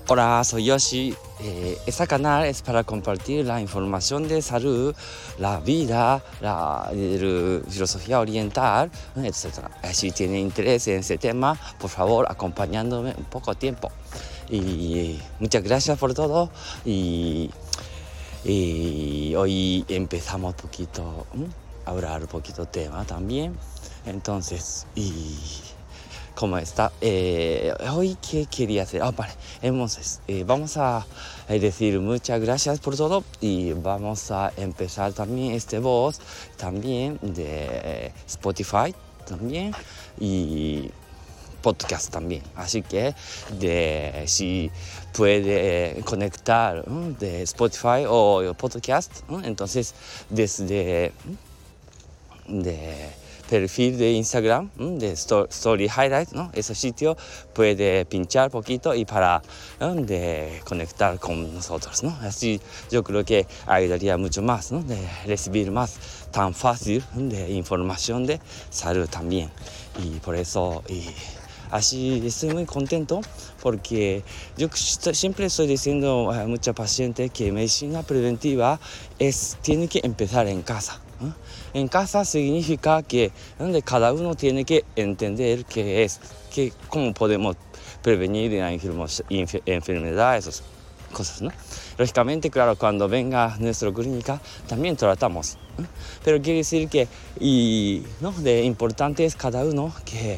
Hola, soy Yoshi. Este canal es para compartir la información de salud, la vida, la filosofía oriental, etc. Si tiene interés en ese tema, por favor, acompañándome un poco tiempo. Y muchas gracias por todo. Y hoy empezamos un poquito a hablar un poquito tema también. Entonces, ¿cómo está? Hoy, ¿qué quería hacer? Vale. Entonces, vamos a decir muchas gracias por todo y vamos a empezar también este voz también de Spotify también y podcast también. Así que si puede conectar de Spotify o podcast, entonces desde perfil de Instagram, de Story Highlight, ¿no? Ese sitio puede pinchar poquito y para de conectar con nosotros, ¿no? Así yo creo que ayudaría mucho más, ¿no? De recibir más tan fácil de información de salud también. Y por eso así estoy muy contento porque yo siempre estoy diciendo a muchos pacientes que medicina preventiva tiene que empezar en casa. En casa significa que cada uno tiene que entender cómo podemos prevenir la enfermedad, esas cosas, ¿no? Lógicamente, claro, cuando venga a nuestra clínica también tratamos, ¿no? Pero quiere decir que de importante es cada uno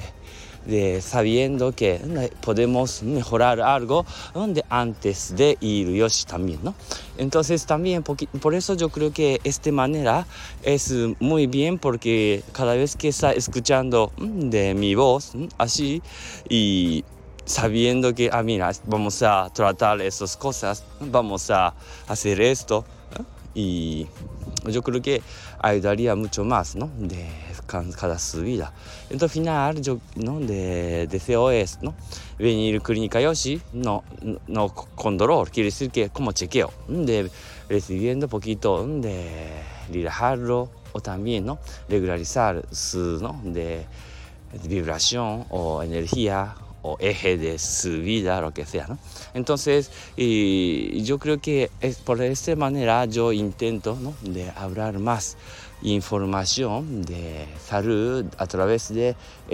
sabiendo que podemos mejorar algo antes de ir Yoshi también, ¿no? Entonces también por eso yo creo que esta manera es muy bien porque cada vez que está escuchando de mi voz así y sabiendo que mira, vamos a tratar esas cosas, vamos a hacer esto, ¿no? Y yo creo que ayudaría mucho más, ¿no? De cada subida. Entonces, al final, yo deseo es, ¿no? Venir a Clínica Yoshi, no con dolor, quiere decir que como chequeo, de recibiendo poquito de relajarlo o también, ¿no? Regularizar su, ¿no? de vibración o energía o eje de su vida, lo que sea, ¿no? Entonces, yo creo que por esta manera yo intento, ¿no? de hablar más información de salud a través de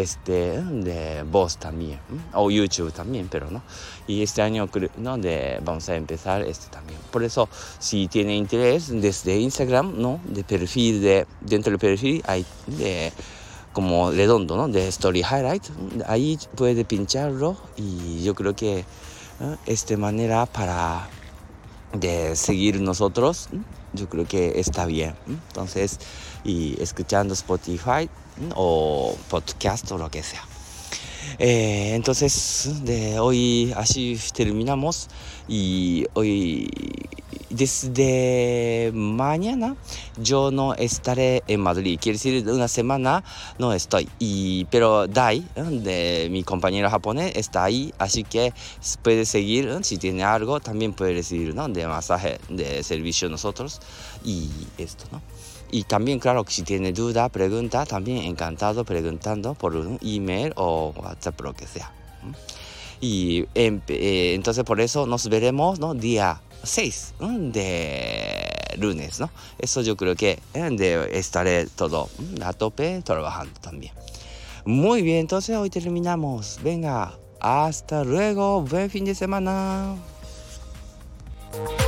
voz también, o YouTube también, pero no. Y este año, ¿no? vamos a empezar también. Por eso, si tiene interés, desde Instagram, ¿no? Dentro del perfil hay como redondo, ¿no? De Story Highlight, ahí puede pincharlo y yo creo que esta manera para de seguir nosotros, yo creo que está bien. Entonces, y escuchando Spotify o podcast o lo que sea. Entonces, hoy así terminamos y hoy desde mañana yo no estaré en Madrid, quiere decir una semana no estoy, pero Dai, de mi compañero japonés, está ahí, así que puede seguir, si tiene algo también puede recibir, ¿no? de masaje, de servicio nosotros y esto, ¿no? Y también, claro, si tiene duda, pregunta, también encantado preguntando por un email o WhatsApp, lo que sea. Y entonces por eso nos veremos, ¿no? Día 6 de lunes, ¿no? Eso yo creo que estaré todo a tope trabajando también. Muy bien, entonces hoy terminamos. Venga, hasta luego, buen fin de semana.